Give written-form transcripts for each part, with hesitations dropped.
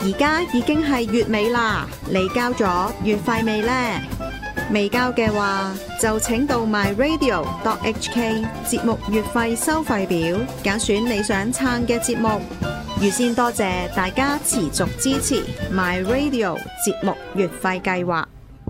而家已經係月尾啦，你交咗月費未呢？未交嘅話，就請到 myradio.hk 節目月費收費表，揀選你想撐嘅節目。預先多謝大家持續支持 myradio 節目月費計劃。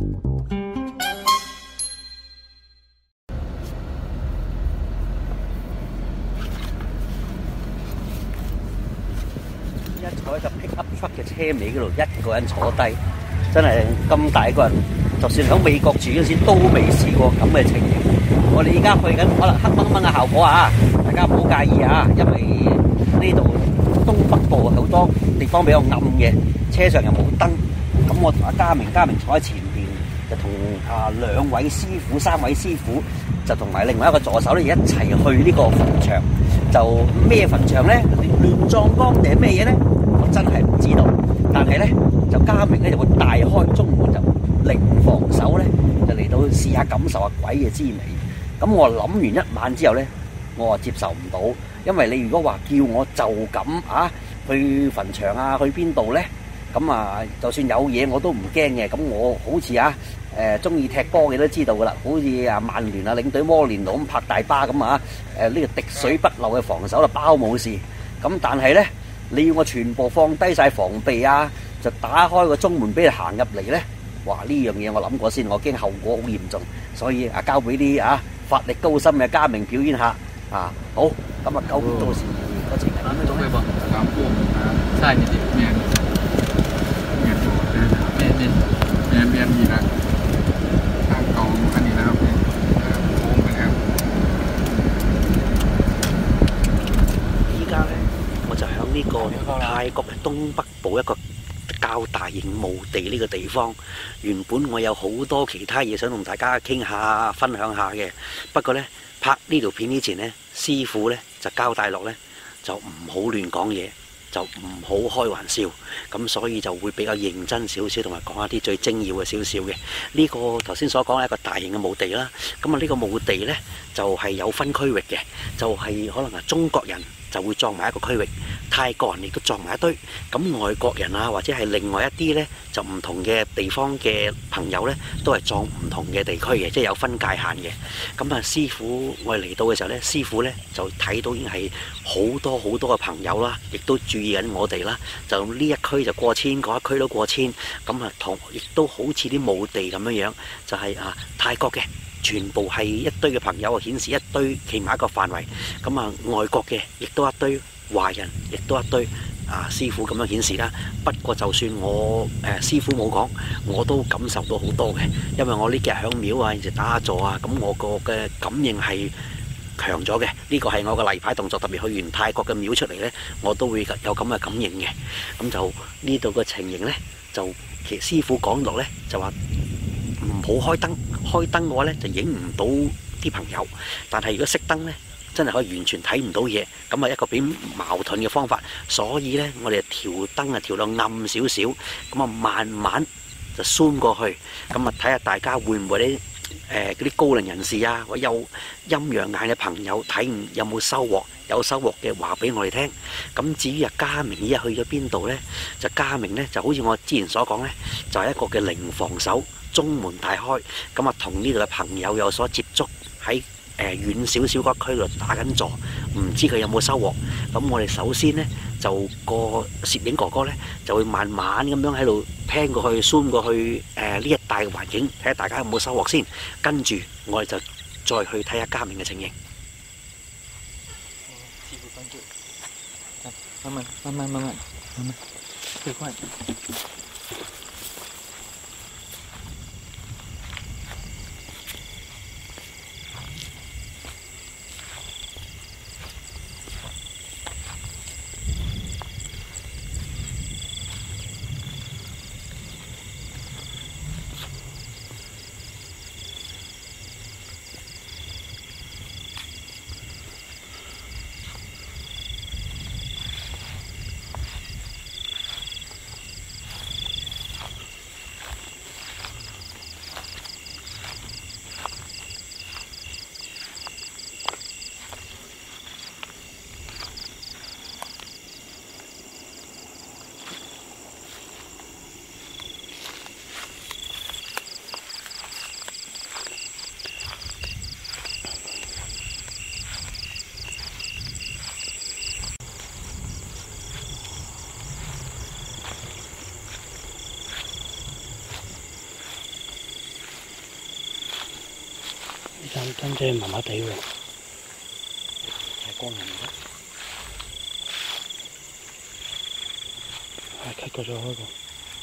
一坐喺個 pick up truck 嘅車尾嗰度，一個人坐低，真係咁大個人，就算喺美國住嗰時都未試過咁嘅情形。我哋而家去緊可能黑掹掹嘅效果啊，大家唔好介意啊，因為呢度東北部好多地方比較暗嘅，車上又冇燈。咁我同阿嘉明坐喺前邊，就同兩位師傅、三位師傅，就同埋另外一個助手咧一齊去呢個墳場。就咩墳場咧？亂葬崗定係咩嘢咧？我真係唔知道。但係咧，就嘉明咧就會大開中門，就零防守咧，就嚟到試下感受下鬼嘅滋味。咁我諗完一晚之後咧，我話接受唔到，因為你如果話叫我就咁去墳場啊，去邊度咧？咁就算有嘢我都唔驚嘅。咁我好似中意踢波嘅都知道噶啦，好似曼聯領隊摩連奴咁拍大巴咁呢個滴水不漏嘅防守就包冇事。咁但係咧，你要我全部放低晒防備就打開個中門俾你行入嚟咧，哇！呢樣嘢我諗過先，我驚後果好嚴重，所以交俾啲法力高深嘅嘉明表演下好。咁究竟到時個情係點樣咧？ ใช่นี่ดิแมนมีนะข้างกองอันนี้นะครับโค้งไปครับ依家咧，我就喺呢個泰國嘅東北部一個較大型墓地呢個地方。原本我有好多其他嘢想同大家傾下、分享下嘅，不過咧拍呢條片之前咧，師傅咧就交代落咧，就唔好亂講嘢。就唔好開玩笑，咁所以就會比較認真少少，同埋講一啲最精要嘅少少嘅。呢個頭先所講係一個大型嘅墓地啦。咁呢個墓地呢，就係有分區域嘅，就係可能係中國人就會葬埋一個區域，泰國人亦都葬埋一堆。咁外國人或者係另外一啲呢，就唔同嘅地方嘅朋友呢，都係葬唔同嘅地區嘅，即係有分界限嘅。咁師傅我哋嚟到嘅時候呢，師傅呢就睇到已經係好多好多嘅朋友啦，亦都注意緊我哋啦。就呢一區就過千，嗰一區都過千。咁亦都好似啲墓地咁樣樣，就係泰國嘅。全部係一堆嘅朋友顯示一堆企埋一個範圍。咁外國嘅亦都一堆，華人亦都一堆。師傅咁樣顯示啦。不過就算我師傅冇講，我都感受到好多嘅，因為我呢幾日響廟有時打坐咁我個嘅感應係強咗嘅。呢個係我個例牌動作，特別去完泰國嘅廟出嚟呢，我都會有咁嘅感應嘅。咁就呢度嘅情形呢，就其實師傅講落呢，就話唔好開燈，開燈嘅話呢，就影唔到啲朋友。但係如果熄燈呢，真係可以完全睇唔到嘢。咁一個比矛盾嘅方法。所以呢，我哋調燈調到暗少少，咁慢慢就 zoom 過去。咁睇下大家會唔會呢？嗰啲高齡人士或者有陰陽眼嘅朋友睇唔有冇收穫？有收穫嘅話俾我哋聽。咁至於嘉明依家去咗邊度呢？就嘉明呢，就好似我之前所講呢，就係一個嘅零防守，中門大開。咁同呢度嘅朋友有所接觸，喺遠少少嗰區度打緊坐，唔知佢有冇收穫。咁我哋首先呢，就個攝影哥哥呢，就會慢慢咁樣喺度聽過去 zoom 過去呢一帶嘅環境，睇下大家有冇收穫先。跟住我哋就再去睇下嘉明嘅情形。慢慢，快。 真係麻麻地喎，太光啦唔得，係 cut 咗開個。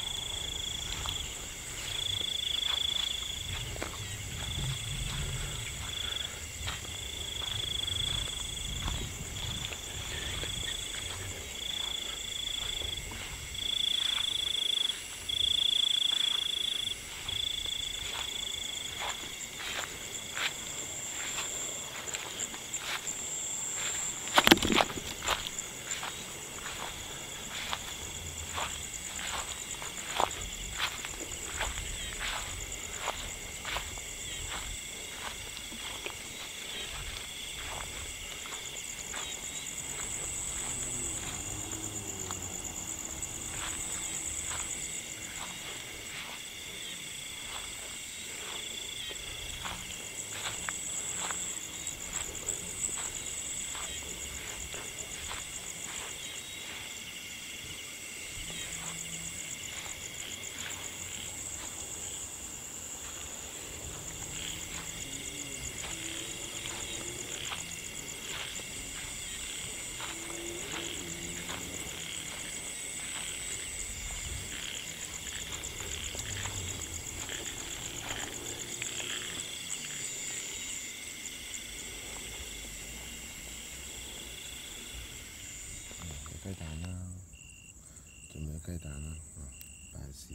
雞蛋啦，仲有雞蛋啦，拜士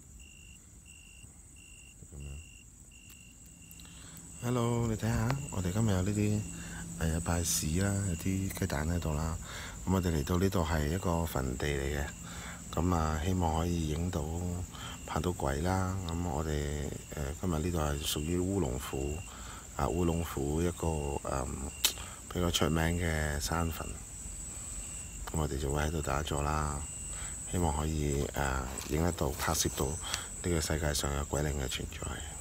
咁樣。Hello， 你睇下，我哋今日有呢啲拜士啦，有啲雞蛋喺度啦。咁我哋嚟到呢度係一個墳地嚟嘅，咁啊希望可以影到拍到鬼啦。咁我哋今日呢度係屬於烏龍府烏龍府一個比較出名嘅山墳。咁我哋就會喺度打坐啦，希望可以影得到、拍攝到呢個世界上有鬼靈嘅存在。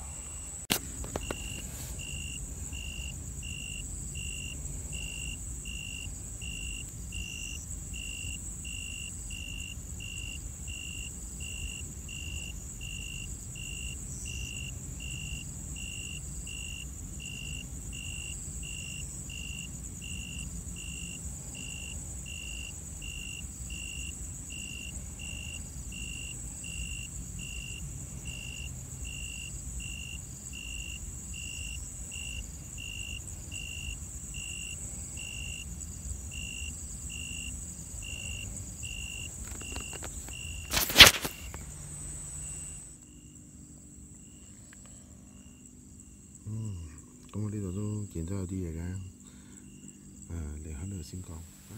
咁我呢度都見到有啲嘢嘅，你喺度先講。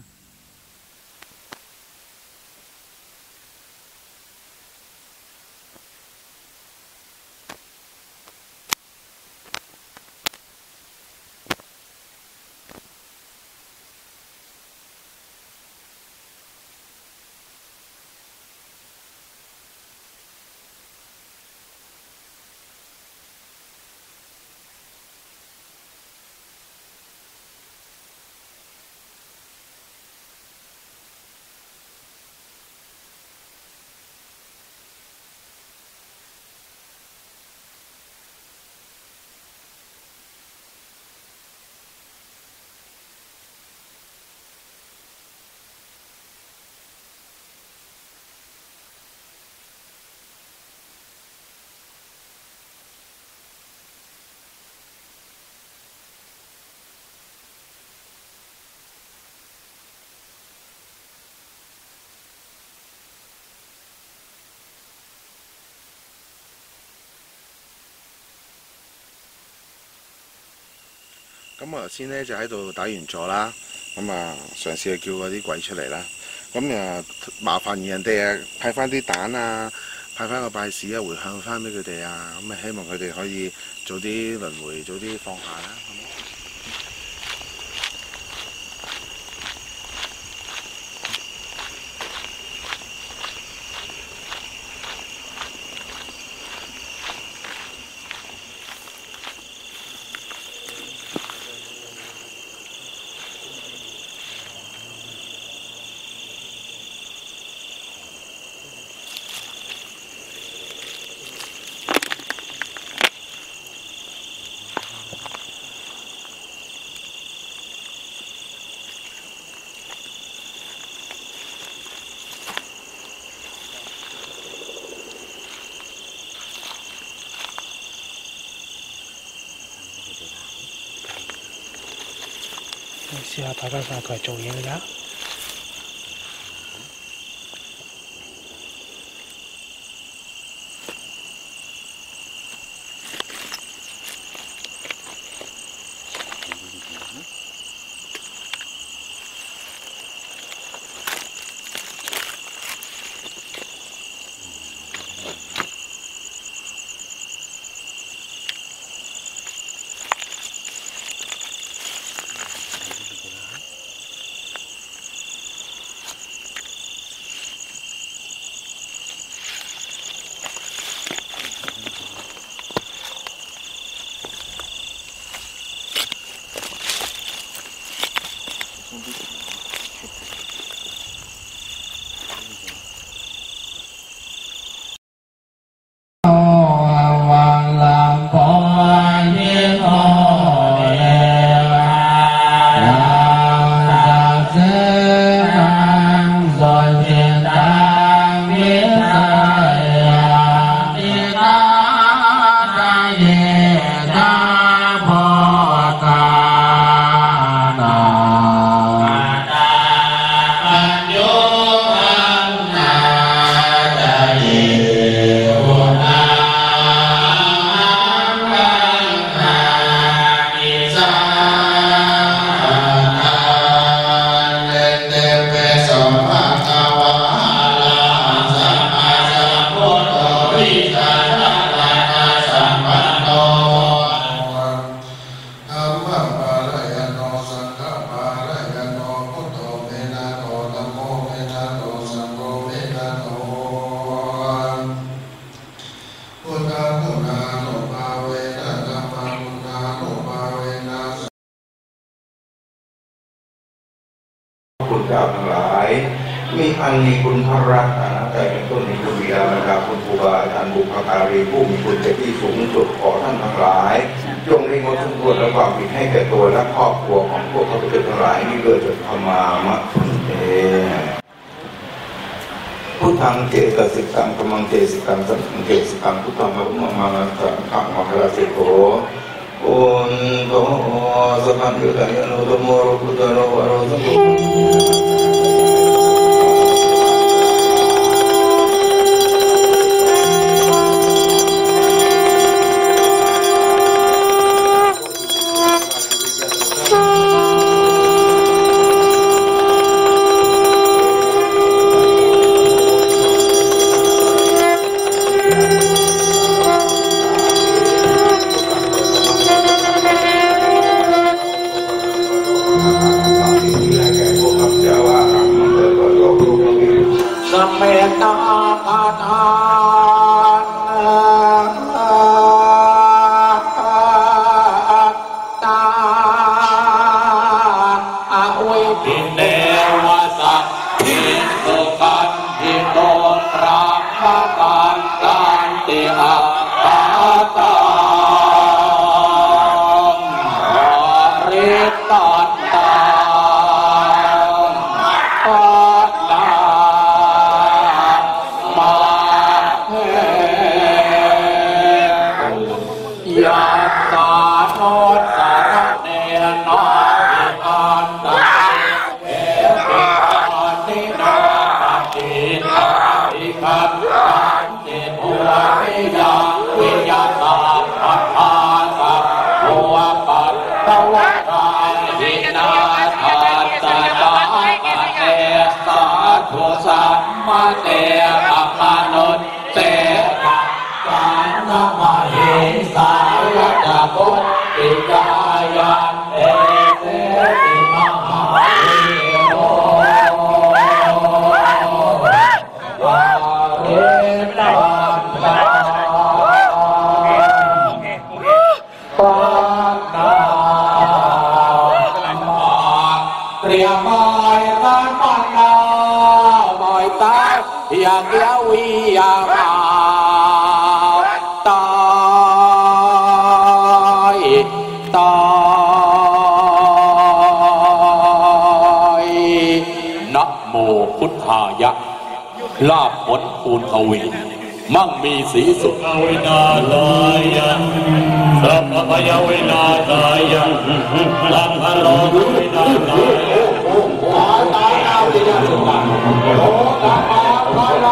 咁我頭先咧就喺度打完坐啦，咁啊嘗試去叫嗰啲鬼出嚟啦。咁麻煩人哋派翻啲蛋啊，派翻個拜士啊，回向翻俾佢哋啊。咁希望佢哋可以早啲輪迴，早啲放下啦。 試下大家上台做嘢㗎。 คุณเจ้าทั้งหลายมีอันมีคุณพระรัตนตรัยเป็นต้นมีคุณบิดามารดาคุณครูบาอาจารย์บุพการีผู้มีคุณเป็นที่สูงสุดขอท่านทั้งหลายจงได้งดทุกข์และความผิดให้แก่ตัวและครอบครัวของพวกข้าพเจ้าทั้งหลายนี้เกิดจากธรรมามะเอพุทธังเจตสิกังธัมมังเจสิกังสังฆังเจสิกังพุทธังมะรุมังสังฆังมะคาราสิโกอุนโตสัพพัญญุตายโนธโมโรกุตโรวะโรสังโฆเมตตาปาทานตาอวิปิเนวสัตถิสุขันธิโตตรังมาตันตันติอาปาตาริตันตาสัมมาเตอะมนุษเตนะกานะมะเหสายะตะพุทธิกายันเตเตติมหาวิโรวาเรตันตาปานาเตรียมไม้กันมันนาอยากเลี้ยววิยามาตายนะโมพุทธายะลาภผลคูณทวีมั่งมีสีสุขวินาศยันสัพพยวินาศยันลังพะโลวินาศยันตานาวินาศยันโลกาภาลา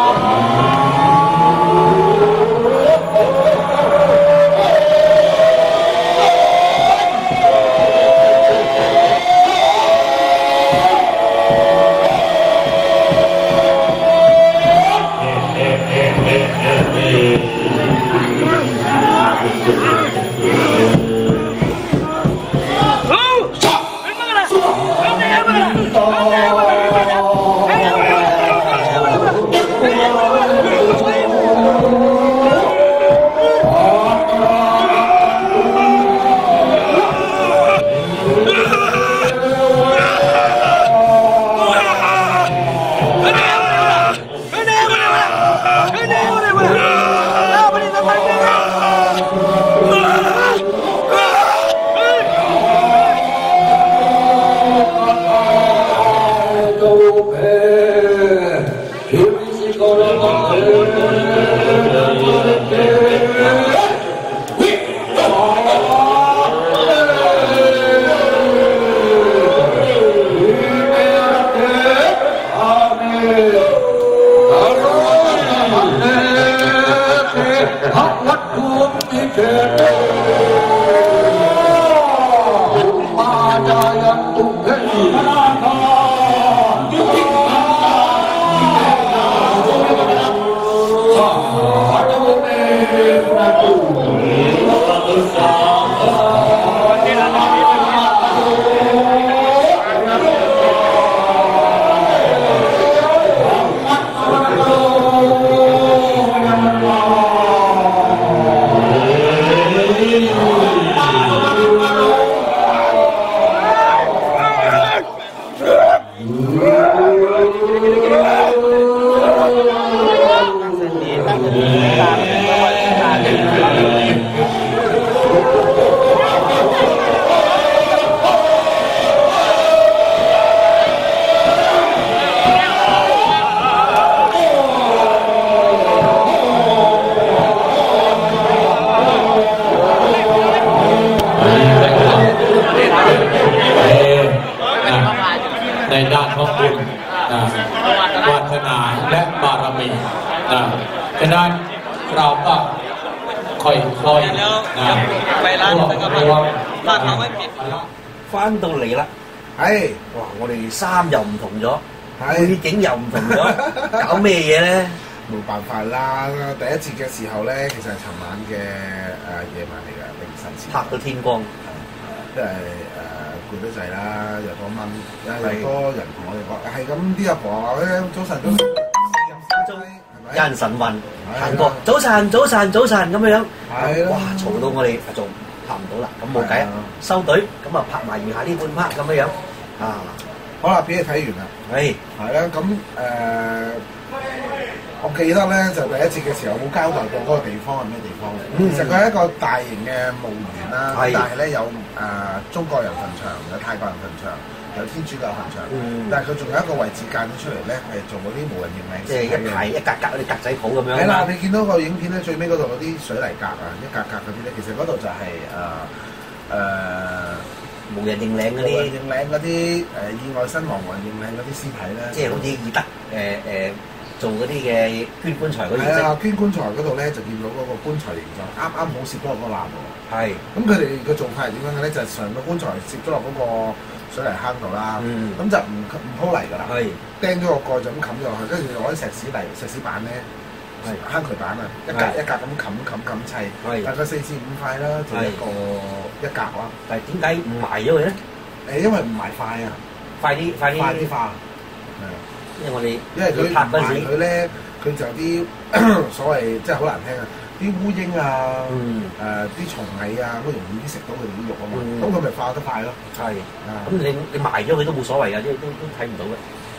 ในด้านของบุญวาสนาและบารมีฉะนั้นเราก็ค่อยๆไปร้านนึงก็ถ้าเขาไม่ผิด翻到嚟啦， 係， 哇！我哋衫又唔同咗，背景又唔同咗，搞咩嘢咧？ 冇辦法啦。第一節嘅時候咧，其實係尋晚嘅夜晚嚟㗎，凌晨前。 拍到天光， 因為攰得滯啦，又多蚊，又多人同我哋講，係咁啲阿婆話咧，早晨早晨， 有人晨運行過，早晨早晨早晨咁樣，哇！嘈到我哋仲拍唔到啦，咁冇計，收隊，咁啊拍埋餘下呢半 part 咁樣啊。 好啦，片你睇完啦，係啦，咁我記得咧就第一節嘅時候冇交代過嗰個地方係咩地方嚟。其實佢係一個大型嘅墓園啦，但係咧有中國人墳場，有泰國人墳場，有天主教墳場，但係佢仲有一個位置間咗出嚟咧，係做嗰啲無人認領， 即係一排一格格嗰啲格仔鋪咁樣。 係啦，你見到個影片咧，最尾嗰度嗰啲水泥格啊，一格格嗰啲咧，其實嗰度就係無人認領嗰啲， 認領嗰啲意外身亡無人認領嗰啲屍體咧， 即係好似義德做嗰啲嘅捐棺材嗰啲。 係啊，捐棺材嗰度咧就見到嗰個棺材形狀啱啱好攝咗落個欄喎。 係。咁佢哋嘅做法係點樣嘅咧？就係上個棺材攝咗落嗰個水泥坑度啦。咁就唔鋪泥㗎啦。係。釘咗個蓋就咁冚咗落去，跟住攞啲石屎板咧，坑渠板啊，一格一格咁冚砌。係。大概4至5塊啦，就一格啦。 但係點解唔埋咗佢咧？ 因為唔埋塊啊， 快啲化。因為佢拍嗰時， 佢咧佢就啲所謂即係好難聽啊，啲烏蠅啊，啲蟲蟻啊，好容易啲食到佢哋啲肉啊嘛，咁佢咪化得快咯。係， 咁你埋咗佢都冇所謂㗎，都睇唔到嘅。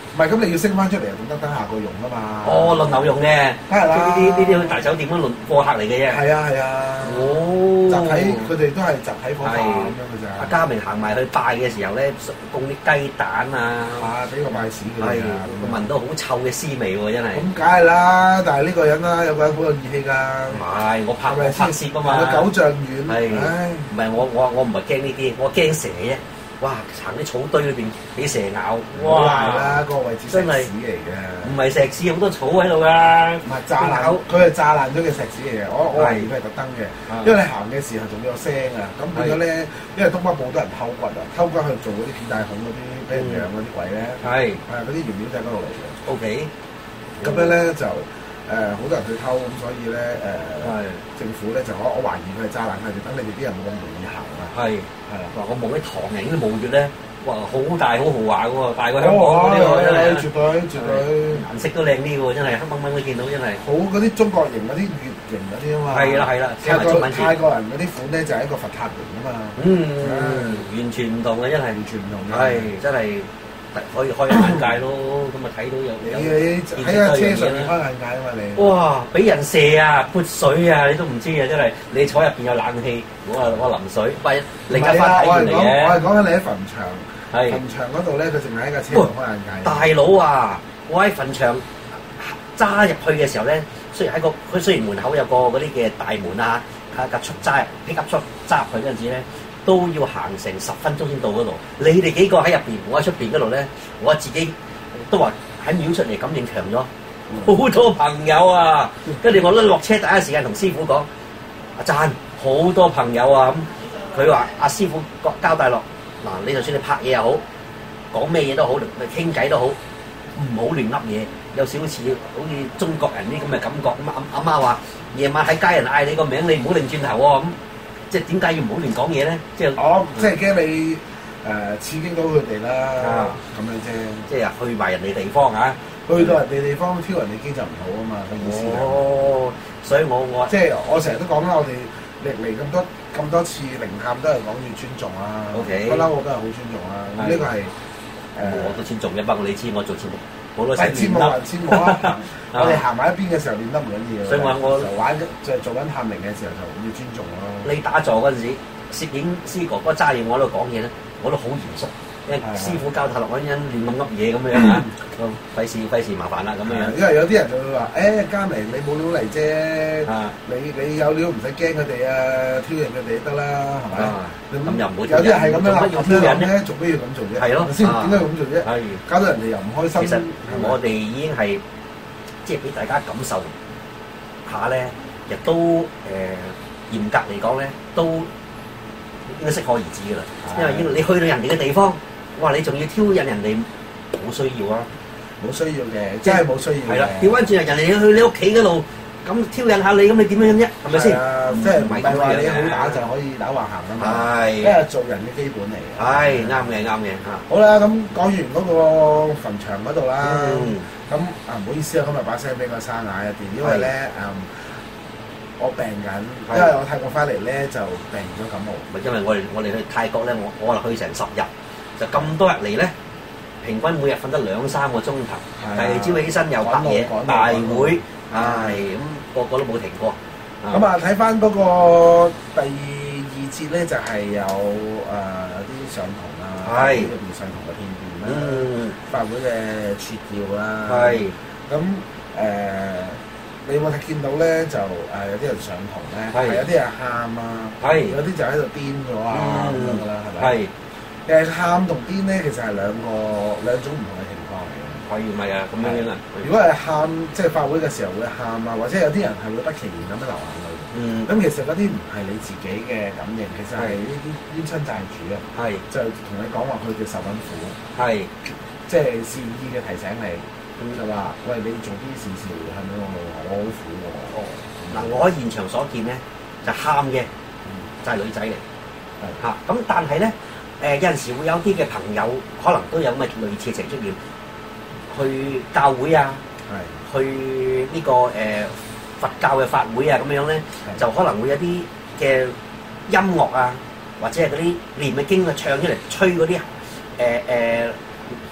唔係咁你要升翻出嚟，等下個用啊嘛。 哦，輪流用嘅， 梗係啦呢啲大酒店嗰輪貨客嚟嘅啫。 係啊係啊。 哦， 集體佢哋都係集體火化咁樣嘅咋。 阿嘉明行埋去拜嘅時候咧，供啲雞蛋啊， 俾個拜屎佢哋啊， 聞到好臭嘅屍味喎，真係。 咁梗係啦，但係呢個人啦，有個人好有義氣㗎。 唔係，我拍攝啊嘛。 佢9丈遠。 係。唔係我唔係驚呢啲，我驚蛇啫。哇！行啲草堆裏邊俾蛇咬，哇！ 係啦，個位置石屎嚟嘅， 唔係石屎，好多草喺度㗎。 唔係炸爛，佢係炸爛咗嘅石屎嚟嘅。我懷疑佢係特登嘅，因為你行嘅時候仲有聲啊。咁變咗咧，因為東北部好多人偷骨啊，偷骨去做嗰啲片大孔嗰啲俾人養嗰啲鬼咧。係嗰啲原料就係嗰度嚟嘅。OK， 咁樣咧就好多人去偷，咁所以咧政府咧就我懷疑佢係炸爛佢哋，等你哋啲人冇咁容易行啊。係啦，我望啲唐人嗰啲墓穴咧，哇，好大好豪華嘅喎，大過香港嗰啲喎，真係絕對，顏色都靚啲喎，真係黑掹掹都見到，真係。好嗰啲中國型嗰啲月型嗰啲啊嘛。係啦，泰國人嗰啲款咧就係一個佛塔型啊嘛。完全唔同嘅，真係完全唔同嘅。係真係可以開眼界咯，咁啊睇到有喺架車上面開眼界啊嘛你。哇！俾人射啊，潑水啊，你都唔知啊，真係。你坐入邊有冷氣，我淋水，喂，另一番體驗嚟嘅。我係講緊你喺墳場，墳場嗰度咧，佢淨係喺架車度開眼界。大佬啊！我喺墳場揸入去嘅時候咧，雖然門口有個嗰啲嘅大門啊，架出揸皮夾出揸入去嗰陣時咧，都要行成10分鐘先到嗰度。你哋幾個喺入邊，我喺出邊嗰度咧，我自己都話喺廟出嚟感應強咗，好多朋友啊！跟住我咧落車第一時間同師傅講：阿讚，好多朋友啊！咁佢話：阿師傅交代落嗱，你就算你拍嘢又好，講咩嘢都好，你傾偈都好，唔好亂噏嘢。有少少似好似中國人啲咁嘅感覺。咁阿媽話：夜晚喺街人嗌你個名，你唔好擰轉頭喎。咁即係點解要唔好亂講嘢咧？即係即係驚你刺激到佢哋啦，咁樣啫。即係去埋人哋地方啊，去到人哋地方挑人哋機就唔好啊嘛，個意思。哦，所以我即係我成日都講啦，我哋歷嚟咁多次靈探都係講要尊重啦。OK，不嬲我都係好尊重啦。咁呢個係我都尊重嘅，不過你知我做節目。係節目還節目啦，我哋行埋一邊嘅時候練得唔緊要，所以我就玩就做緊探靈嘅時候就要尊重咯。你打坐嗰陣時，攝影師哥哥揸住我喺度講嘢咧，我都好嚴肅，因為師傅教塔落嗰陣亂咁噏嘢咁樣啊，費事麻煩啦咁樣。因為有啲人就會話：嘉明你冇料嚟啫，你有料唔使驚佢哋啊，挑釁佢哋得啦，係咪？咁又唔會有啲人係咁樣啦，咁樣咧，做咩要咁做啫？係咯，先點解要咁做啫？係搞到人哋又唔開心。其實我哋已經係即係俾大家感受下咧，亦都嚴格嚟講咧，都應該適可而止噶啦。因為你去到人哋嘅地方，哇！你仲要挑釁人哋，冇需要啊！冇需要嘅，真係冇需要。係啦，調翻轉人哋去你屋企嗰度，咁挑釁下你，咁你點樣啫？係咪先？即係唔係話你好打就可以打橫行啊嘛？係，因為做人嘅基本嚟嘅。係啱嘅，啱嘅嚇。好啦，咁講完嗰個墳場嗰度啦，咁唔好意思啊，今日把聲比較沙啞一啲，因為咧我病緊，因為我泰國翻嚟咧就病咗感冒。咪因為我哋去泰國咧，我去成10日，就咁多日嚟咧。平均每日瞓得2-3個鐘頭，第二朝起身又拍嘢大會，咁個都冇停過。咁啊睇翻嗰個第2節咧，就係有啲上堂啦，入邊上堂嘅片段啦，法會嘅撮要啦。咁你有冇見到咧？就有啲人上堂咧，有啲人喊啊，有啲就喺度癲咗啊咁樣噶啦，係咪？喊同癲咧，其實係兩種唔同嘅情況嚟嘅。可以唔係啊？咁樣啊？如果係喊，即係法會嘅時候會喊啊，或者有啲人係會不其然咁樣流眼淚。咁其實嗰啲唔係你自己嘅感應，其實係呢啲冤親債主啊。就同你講話佢哋受緊苦。即係善意嘅提醒你，就話：喂，你做啲善事係咪我好苦喎？嗱，我喺現場所見咧，就喊嘅就係女仔嚟。咁但係咧。有陣時會有啲嘅朋友可能都有咁嘅類似情出現，去教會啊，去呢個佛教嘅法會啊咁樣咧，就可能會有啲嘅音樂啊，或者係嗰啲念嘅經啊唱出嚟，吹嗰啲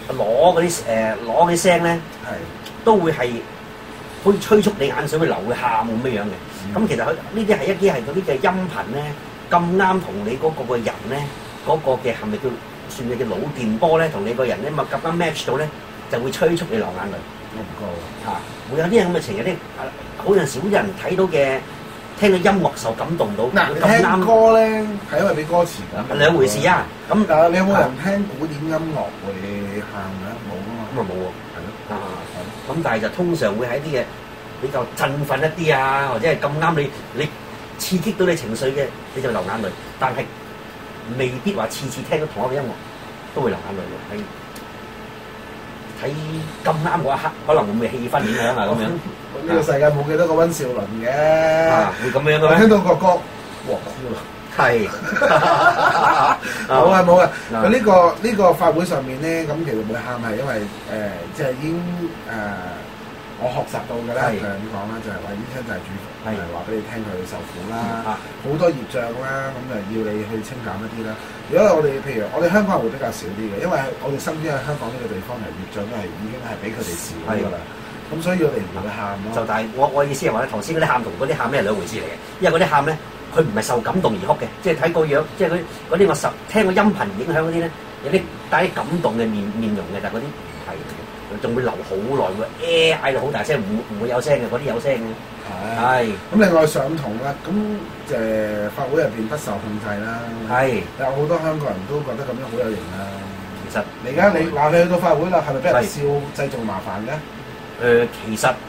攞嗰啲聲咧，都會係好似催促你眼水會流會喊咁樣嘅。咁其實佢呢啲係一啲係嗰啲嘅音頻咧，咁啱同你嗰個人咧嗰個嘅係咪叫算係叫腦電波咧，同你個人咧咪咁啱 match 到咧，就會催促你流眼淚。 我唔覺嚇，會有啲咁嘅情，有啲好有少人睇到嘅。聽到音樂受感動到， 嗱，你聽歌咧係因為俾歌詞㗎， 兩回事啊。咁你有冇人聽古典音樂會喊嘅？冇啊嘛。咁啊冇喎，係咯。 咁但係就通常會喺啲嘅比較振奮一啲啊，或者係咁啱你刺激到你情緒嘅，你就流眼淚。但係未必話次次聽到同一個音樂都會流眼淚嘅。睇咁啱嗰一刻，可能會唔會氣氛影響啊咁樣？ 呢個世界冇幾多個溫兆倫嘅， 會咁樣嘅咩？ 聽到個歌，哇哭啦！係，冇啊冇啊！佢呢個法會上面咧，咁其實會喊係因為即係已經我學習到嘅啦，就係點講啦，就係話醫生就係主，係話俾你聽佢受苦啦，好多業障啦，咁就要你去清減一啲啦。如果我哋譬如我哋香港人會比較少啲嘅，因為我哋身邊喺香港呢個地方係業障都係已經係比佢哋少㗎啦。咁所以我哋唔會喊咯。就但係我意思係話咧，頭先嗰啲喊同嗰啲喊咧係兩回事嚟嘅，因為嗰啲喊咧佢唔係受感動而哭嘅，即係睇個樣，即係嗰啲我聽個音頻影響嗰啲咧，有啲帶啲感動嘅面容嘅，但係嗰啲唔係。仲會流好耐喎，嗌到好大聲，唔會有聲嘅，嗰啲有聲嘅。係。咁另外上堂啦，咁法會入邊不受控制啦。係。有好多香港人都覺得咁樣好有型啦。其實你而家你話你去到法會啦，係咪俾人笑製造麻煩嘅？ 其實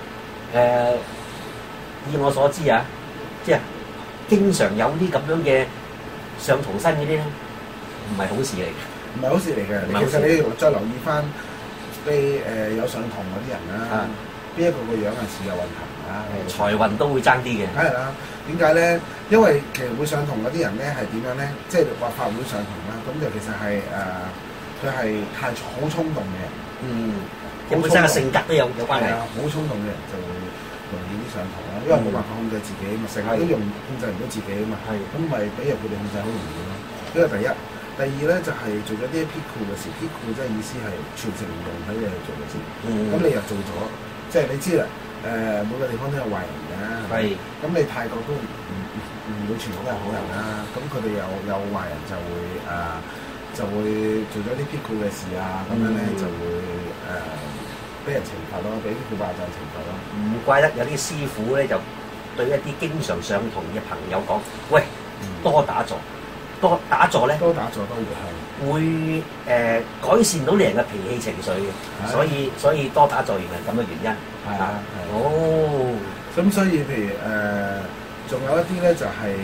以我所知啊，即係經常有啲咁樣嘅上童身嗰啲咧，唔係好事嚟嘅。 唔係好事嚟嘅。其實你再留意翻。有上堂嗰啲人啦，邊一個樣係似有運行啊？ 財運都會爭啲嘅。 梗係啦，點解咧？因為其實會上堂嗰啲人咧係點樣咧？即係話法會上堂啦，咁就其實係佢係太好衝動嘅。 本身嘅性格都有關係。 好衝動嘅人就會容易啲上堂啦，因為冇辦法控制自己嘛，成日都控制唔到自己啊嘛。咁咪俾人佢哋控制好容易咯。呢個第一。第二咧就係做咗啲辟庫嘅事，辟庫即係意思係傳承唔用喺你去做嘅事。咁你又做咗，即係你知啦。每個地方都有壞人嘅。係。咁你泰國都唔會全部都係好人啦。咁佢哋有壞人就會做咗啲辟庫嘅事啊，咁樣咧就會俾人懲罰咯，俾啲庫巴就懲罰咯。 唔怪得有啲師傅咧就對一啲經常上堂嘅朋友講：喂，多打坐。多打坐咧， 多打坐都會改善到你人嘅脾氣情緒嘅，所以多打坐原來咁嘅原因。係啊，哦， 咁所以譬如仲有一啲咧就係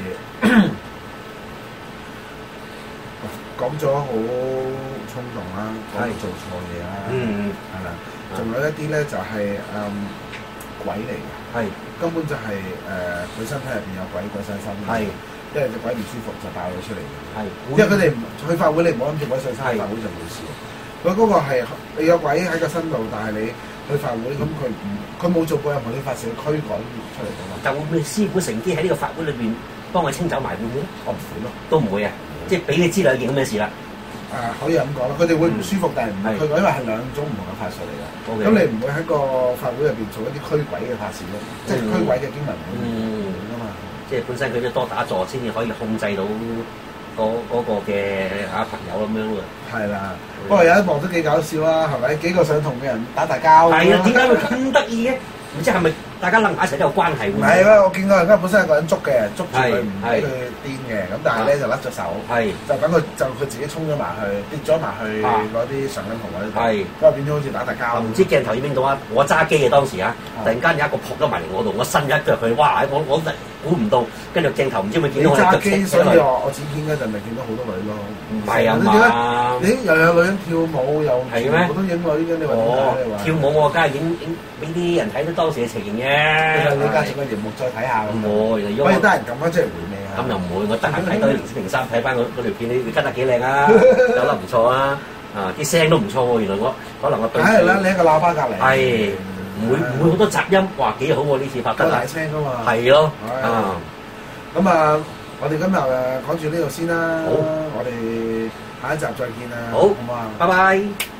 講咗好衝動啦，講到做錯嘢啦，係啦，仲有一啲咧就係鬼嚟嘅，係根本就係佢身體入邊有鬼上身，係。因為隻鬼唔舒服就爆咗出嚟嘅，因為佢哋去法會，你唔好諗住鬼上身，法會就冇事。佢嗰個係你有鬼喺個身度，但係你去法會咁佢冇做過任何啲法事驅趕出嚟㗎嘛。 但會唔會師傅乘機喺呢個法會裏邊幫佢清走埋會唔會咧？我唔會咯，都唔會啊！即係俾你知兩件咁嘅事啦。 可以咁講啦，佢哋會唔舒服，但係唔會驅趕，因為係兩種唔同嘅法術嚟嘅。咁你唔會喺個法會入邊做一啲驅鬼嘅法事咯，即係驅鬼嘅經文嚟㗎嘛。 即係本身佢都多打坐先至可以控制到嗰個嘅朋友咁樣喎。 係啦，不過有一幕都幾搞笑啊，係咪？幾個上堂嘅人打大交。 係啊，點解會咁得意嘅？唔知係咪大家諗埋一齊都有關係？ 唔係啊，我見到人家本身係個人捉嘅，捉住佢唔俾佢癲嘅，咁但係咧就甩咗手，就等佢自己衝咗埋去，跌咗埋去嗰啲上緊堂嗰啲度，咁啊變咗好似打大交。唔知鏡頭影唔影到啊？我揸機嘅當時啊，突然間有一個撲咗埋嚟我度，我伸一腳佢，哇！我估唔到，跟住鏡頭唔知咪見到我揸機，所以我剪片嗰陣咪見到好多女咯。 唔係啊嘛， 你又有女人跳舞又係咩？ 我都影女嘅，你話點解？ 跳舞我梗係影俾啲人睇到當時嘅情形嘅。 你家整個熒幕再睇下咁。 唔會， 可以得人撳翻出嚟回味啊！ 咁又唔會，我得閒睇多啲03睇翻嗰條片，你跟得幾靚啊？走得唔錯啊！啲聲都唔錯喎，原來我可能我對。梗係啦， 你喺個喇叭隔離。 係。唔會好多雜音，哇幾好喎！呢次拍得大聲噶嘛， 係咯， 咁我哋今日講住呢度先啦，好，我哋下一集再見啦， 好， 好嘛， 拜拜。